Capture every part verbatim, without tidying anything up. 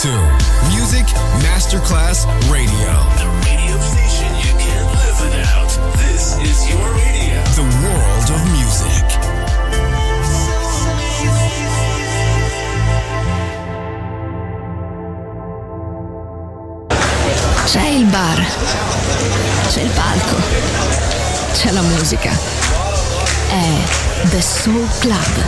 to Music Masterclass Radio. The radio station you can't live without. This is your radio. The world of music. C'è il bar, c'è il palco, c'è la musica. È The Soul Club.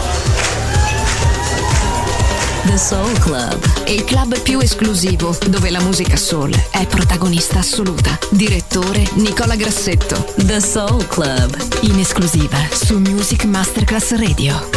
The Soul Club, il club più esclusivo dove la musica soul è protagonista assoluta. Direttore Nicola Grassetto. The Soul Club, in esclusiva su Music Masterclass Radio.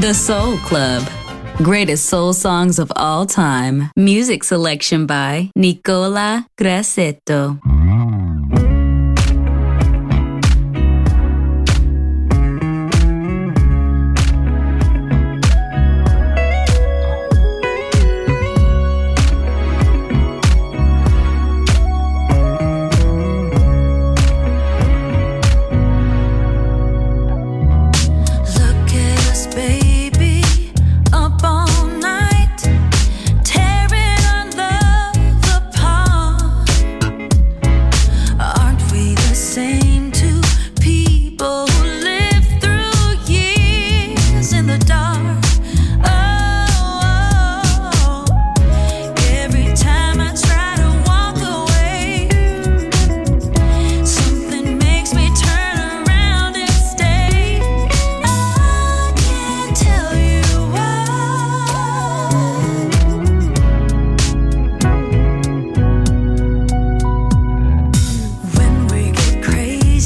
The Soul Club. Greatest soul songs of all time. Music selection by Nicola Grassetto. When we get crazy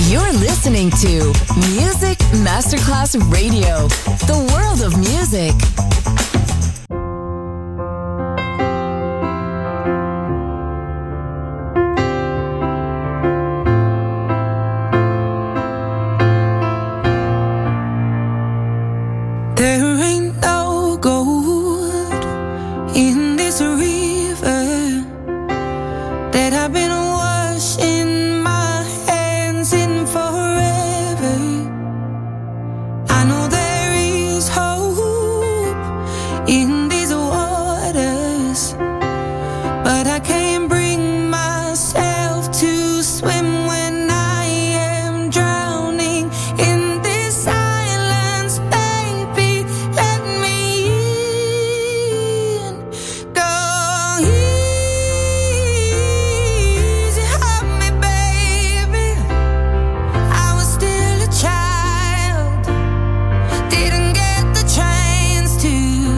You're listening to Music Masterclass Radio, the world of music. There ain't no gold in this river that I've been washing my hands in forever. I know there is hope in these waters, but I can't bring myself to swim when I am drowning in this silence. Baby, let me in. Go easy on me, baby. I was still a child, didn't get the chance to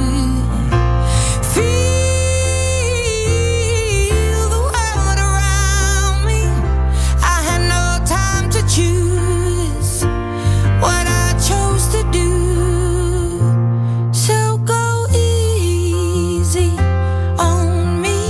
feel the world around me. I had no time to choose what I chose to do. So go easy on me.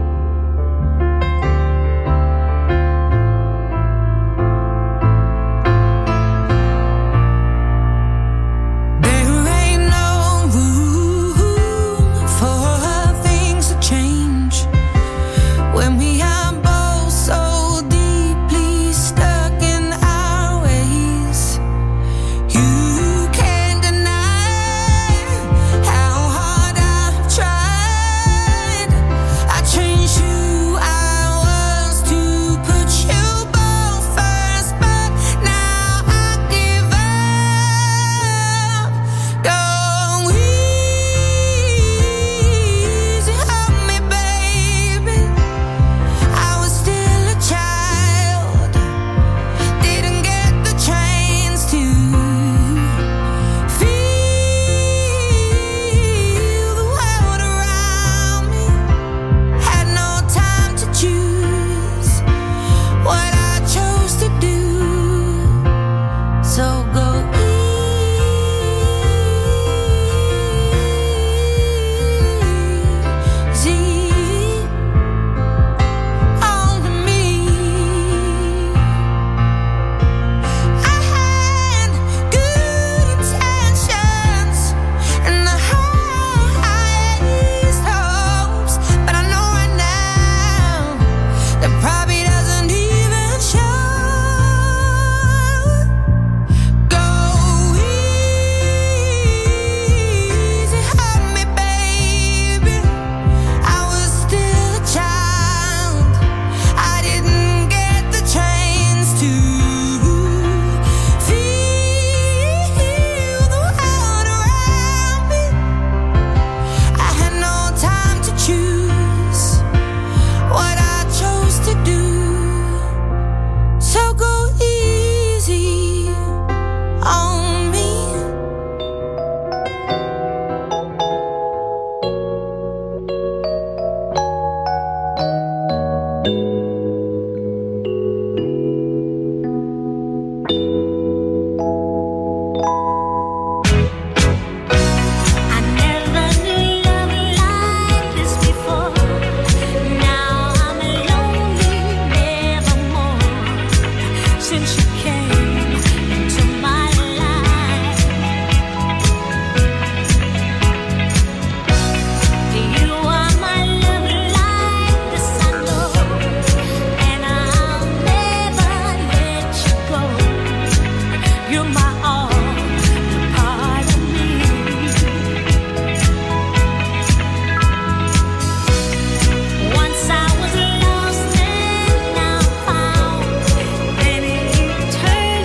There ain't no room for things to change when we are both so deeply stuck in our ways. You can't deny how hard I've tried. I changed who I was to put you both first, but now I give up. Go easy on me, baby. I was still a child, didn't get the chance to feel the world around me. Had no time to choose what I chose to do. So go easy on me. I had good intentions and the highest hopes, but I know right now that probably doesn't even show. Go easy on me, baby. I was still a child, I didn't get the chance to feel the world around me. I had no time to choose what I chose to do. So go easy on me. I never knew love like this before. Now I'm lonely, nevermore. Since you came into my life, you are my love like this, I know, and I'll never let you go. You're my all, you're part of me. Once I was lost and now found, then eternity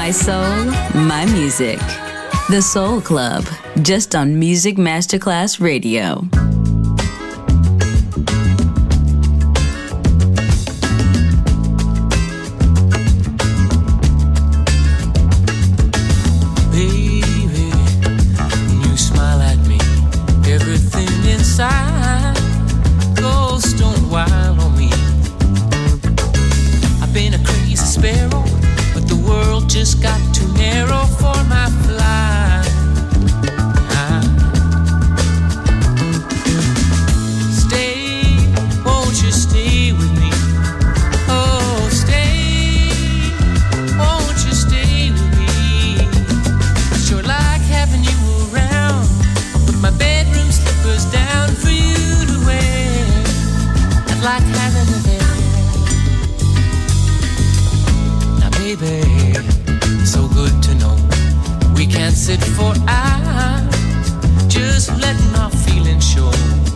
My soul, my music. The Soul Club, just on Music Masterclass Radio. Baby, when you smile at me, everything inside goes stone wild on me. I've been a crazy sparrow, but the world just got too narrow for my flight. Ah. Stay, won't you stay with me? Oh, stay, won't you stay with me? I sure like having you around. I'll put my bedroom slippers down for you to wear. I'd like having you there. Baby, so good to know we can't sit for hours just letting our feelings show.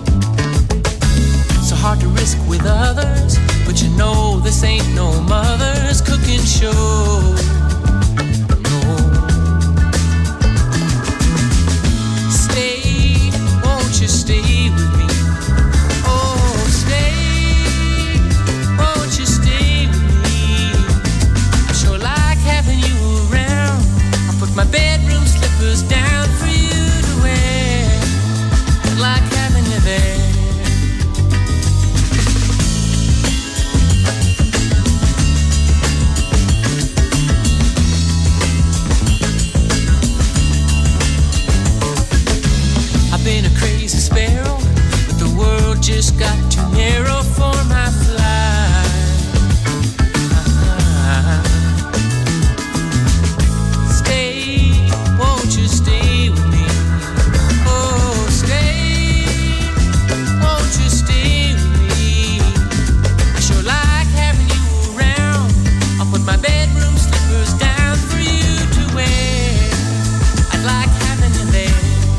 So hard to risk with others, but you know this ain't no mother's cooking show. No. Stay, won't you stay with me? Oh, stay, won't you stay with me? Having you around, I'll put my bedroom slippers down for you to wear. I'd like having you there. I've been a crazy sparrow, but the world just got too narrow for my flight. Uh-huh. Won't you stay with me? Oh, stay, won't you stay with me? I sure like having you around. I'll put my bedroom slippers down for you to wear. I'd like having you there.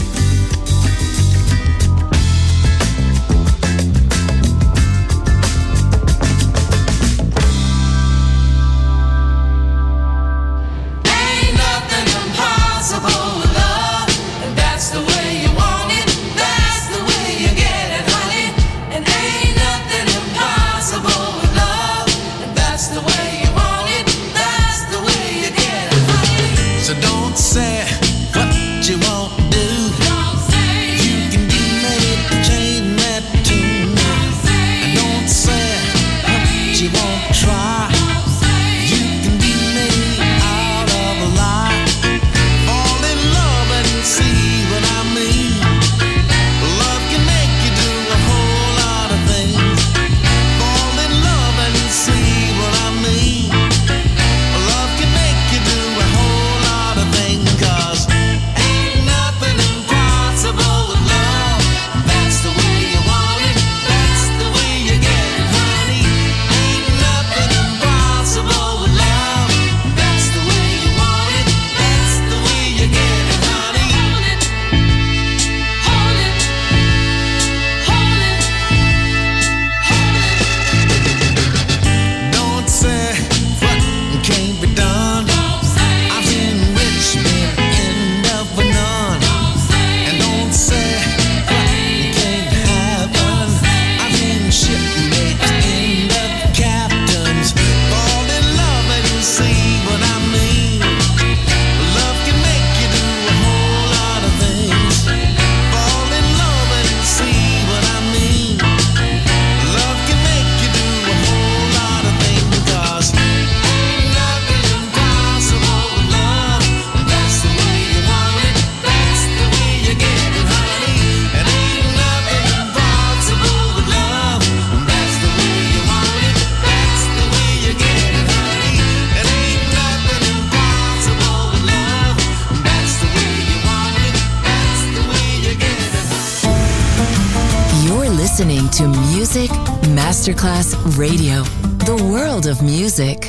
Listening to Music Masterclass Radio, the world of music.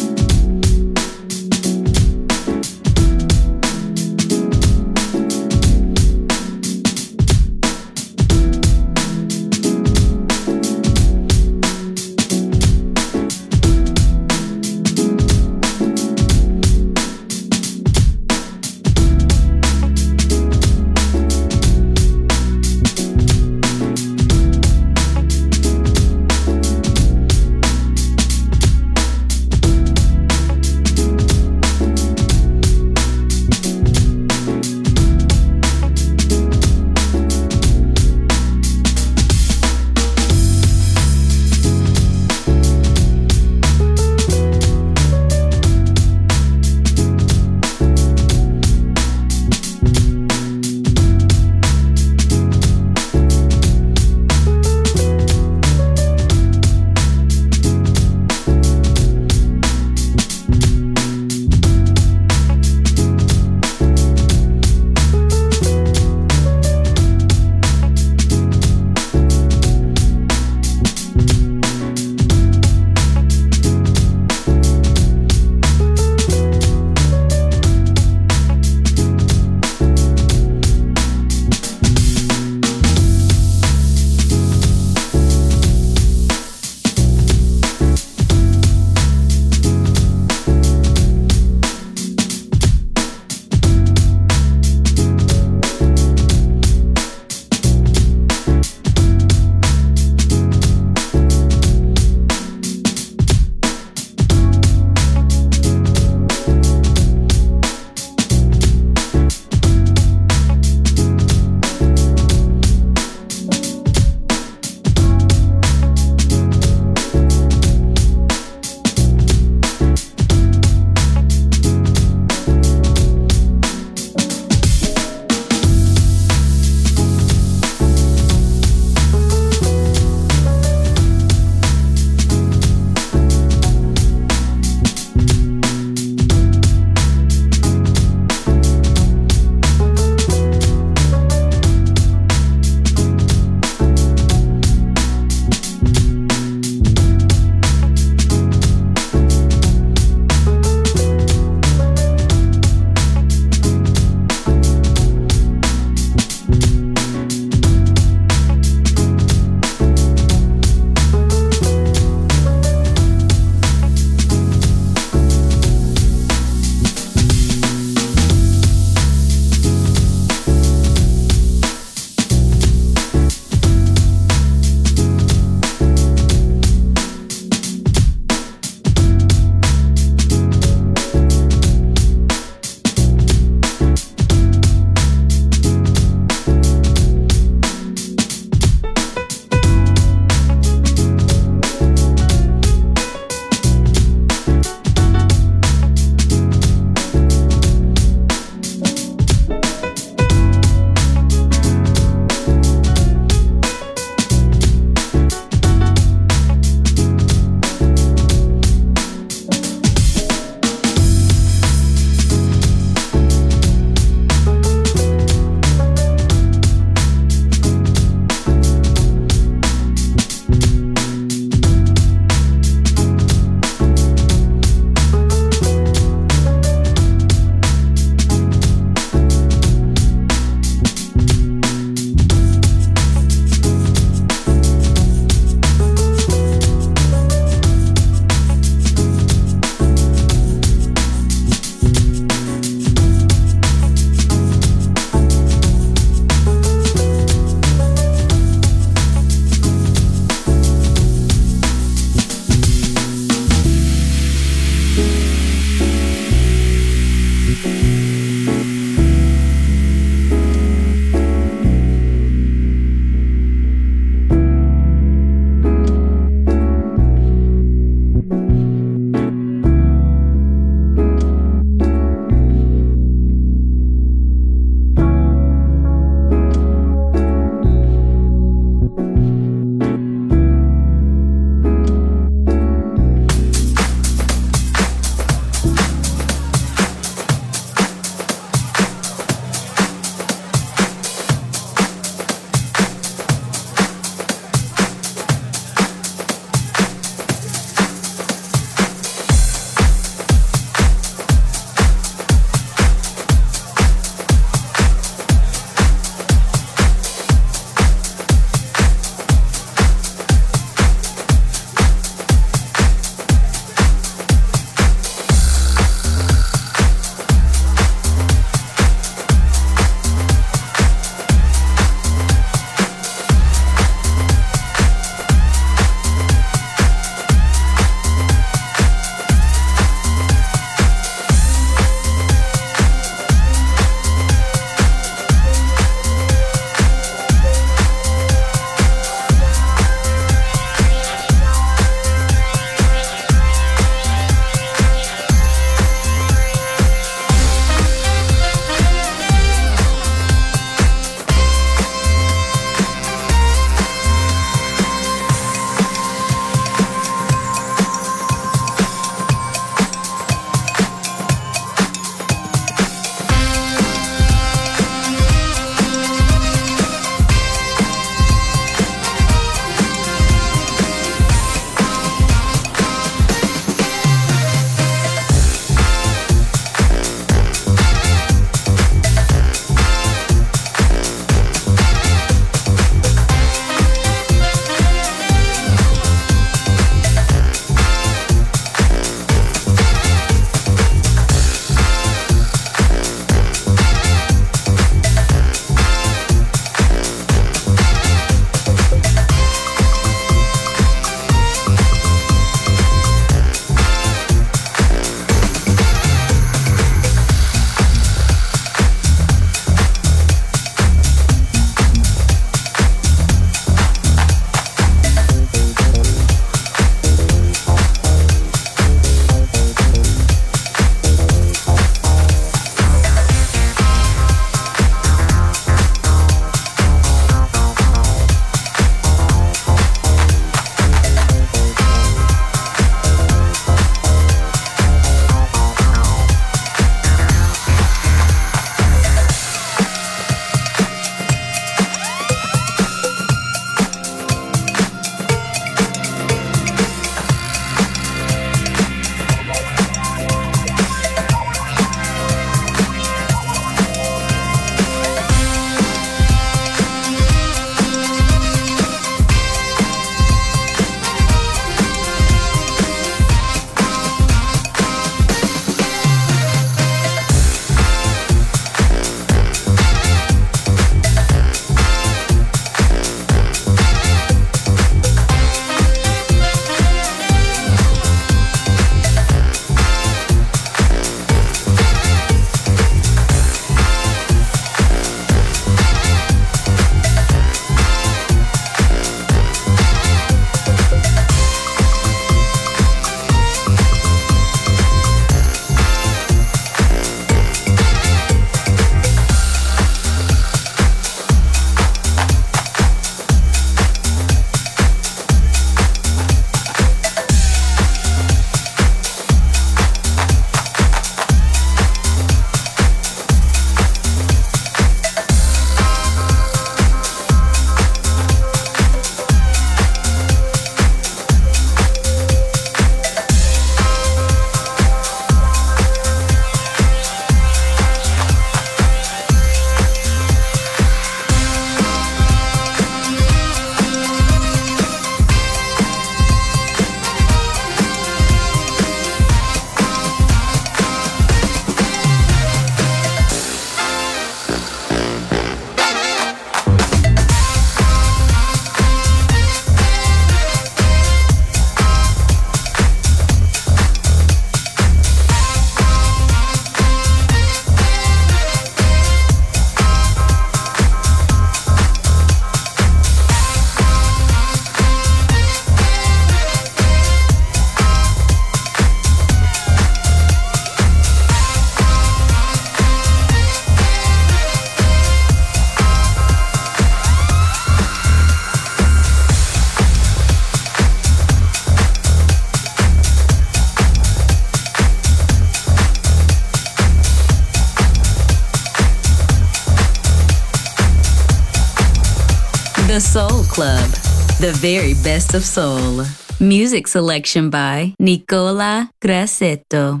The Soul Club, the very best of soul. Music selection by Nicola Grassetto.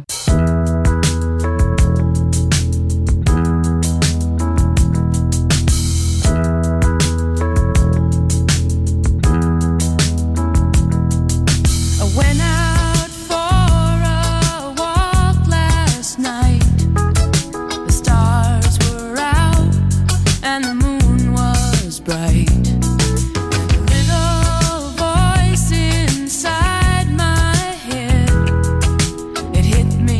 Hit me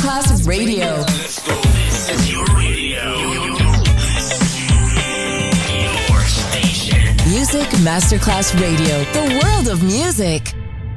Masterclass Radio. Let's go. This is your radio. Your station. Music Masterclass Radio. The world of music.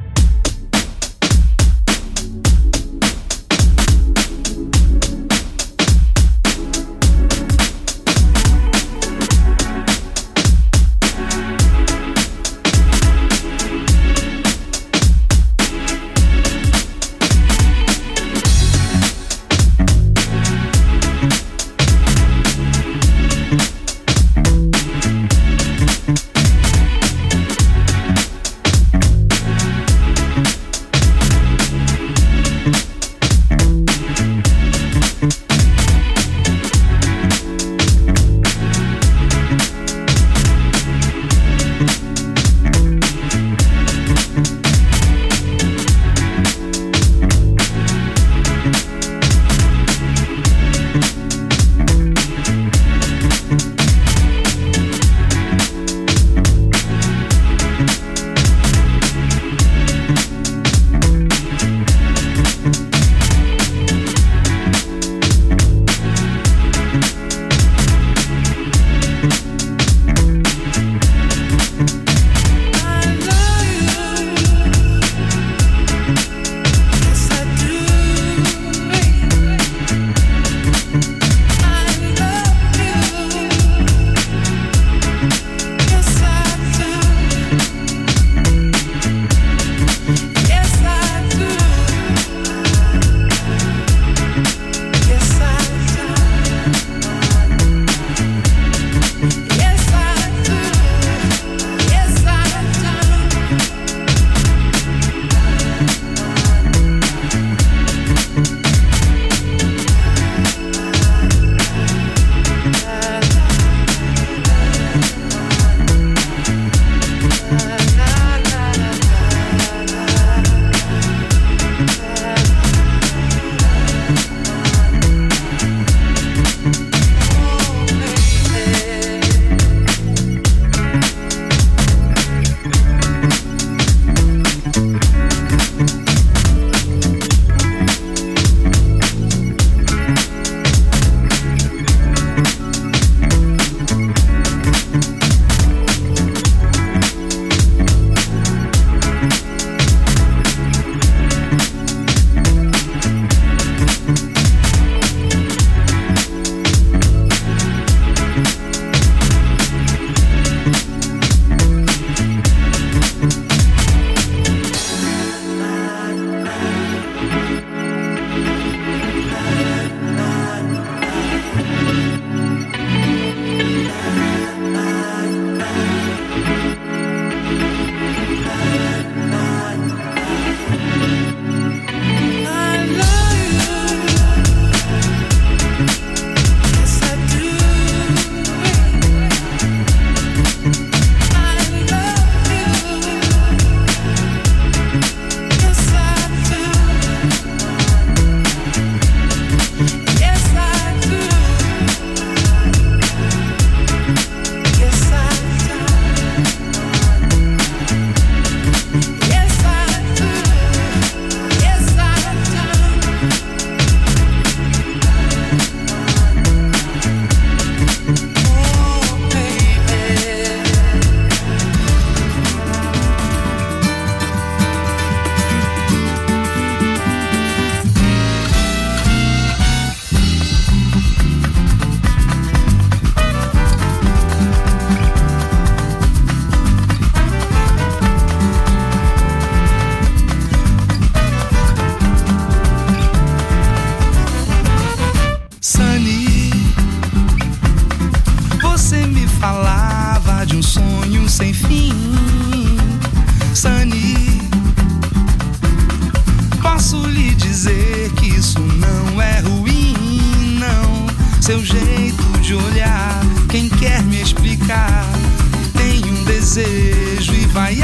seu jeito de olhar. Quem quer me explicar tem um desejo e vai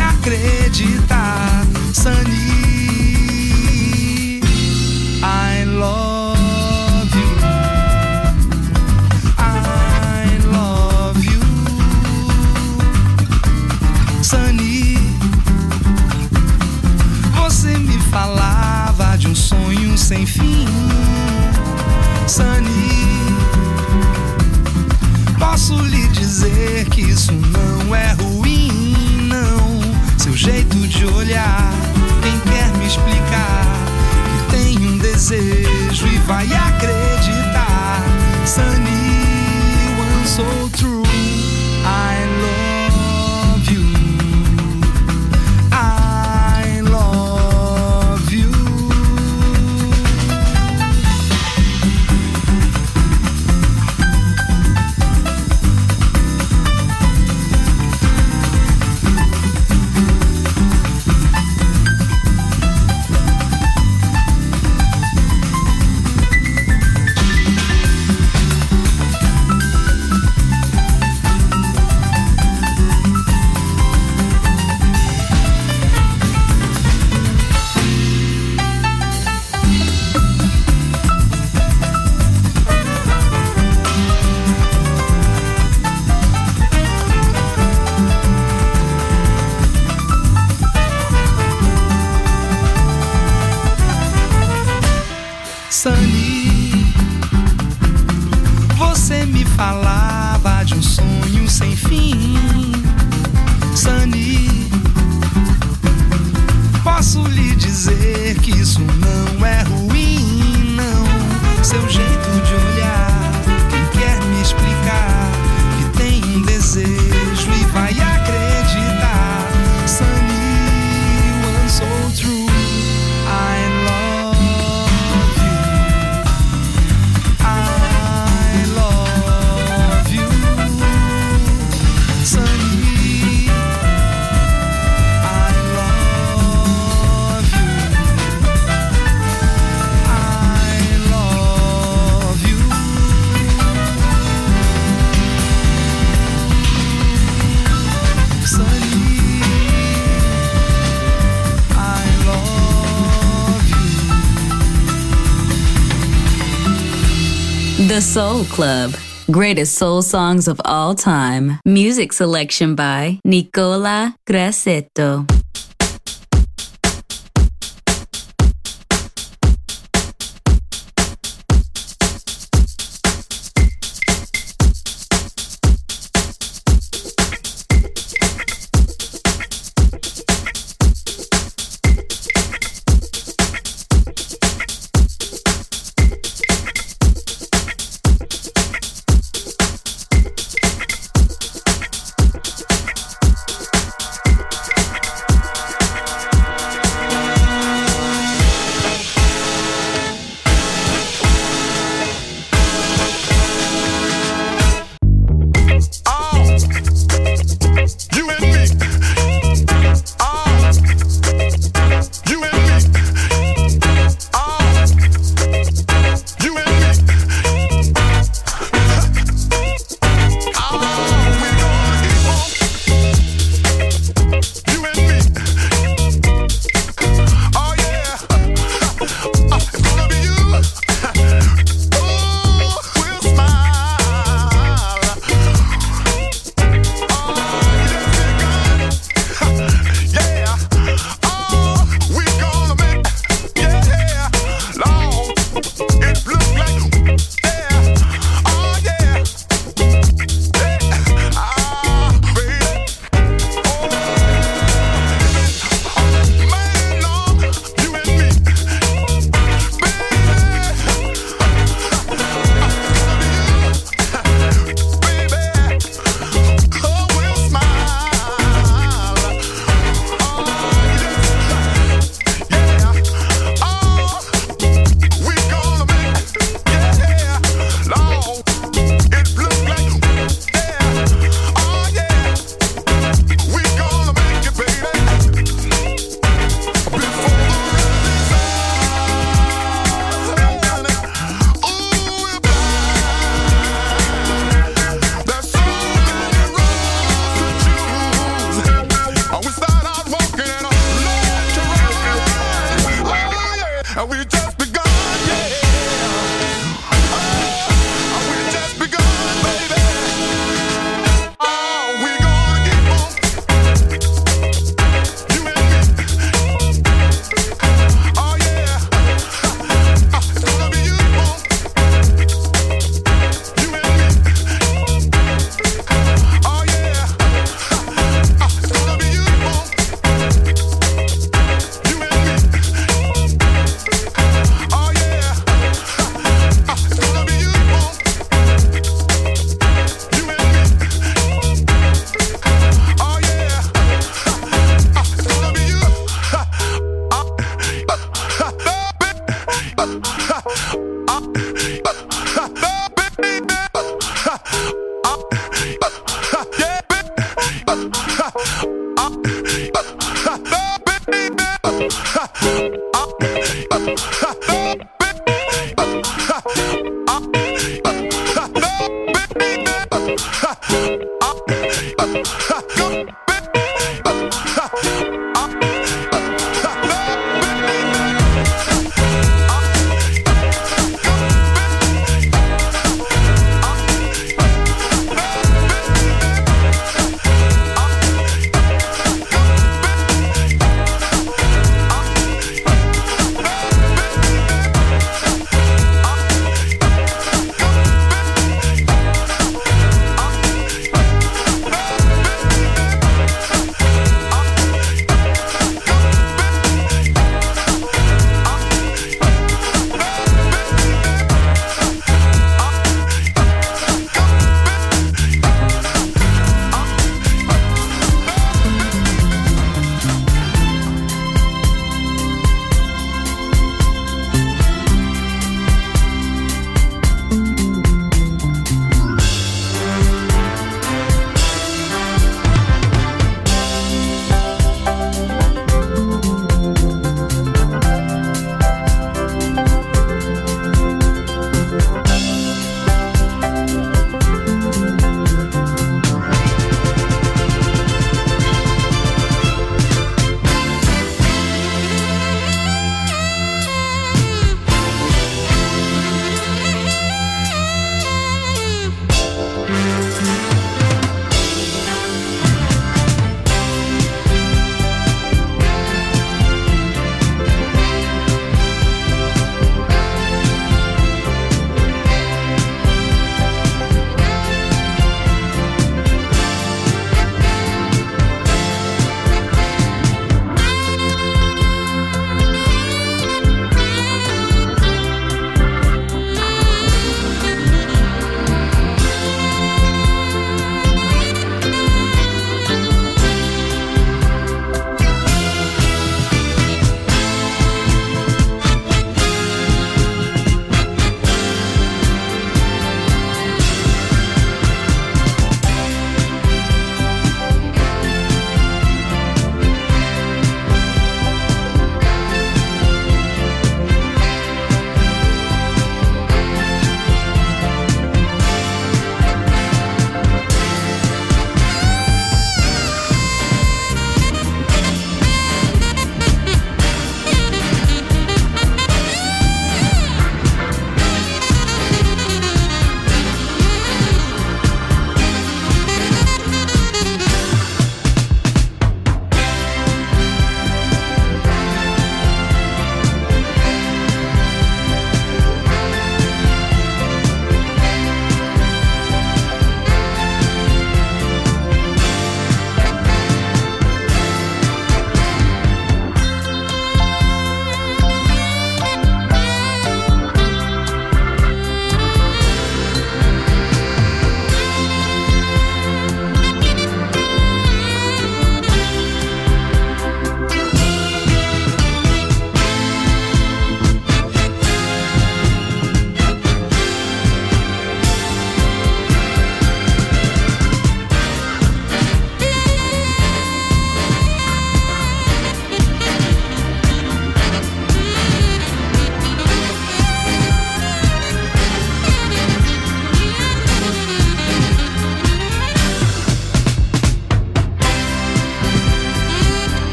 acreditar. Sunny, I love you, I love you. Sunny, você me falava de um sonho sem fim. dizer que isso não é ruim, não. Seu jeito de olhar, quem quer me explicar que tem um desejo e vai acreditar. Sunny, one so true, I love you, I love you. Sunny, você me falava de um sonho sem fim. Sunny, posso lhe dizer que isso não é ruim, não. Seu jeito de olhar, quem quer me explicar que tem um desejo e vai acreditar. Sunny, one so true, I love. The Soul Club. Greatest soul songs of all time. Music selection by Nicola Grassetto.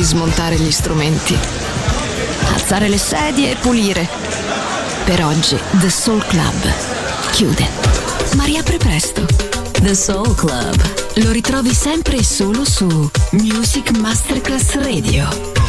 smontare gli strumenti, alzare le sedie e pulire. Per oggi The Soul Club chiude, ma riapre presto. The Soul Club. Lo ritrovi sempre e solo su Music Masterclass Radio.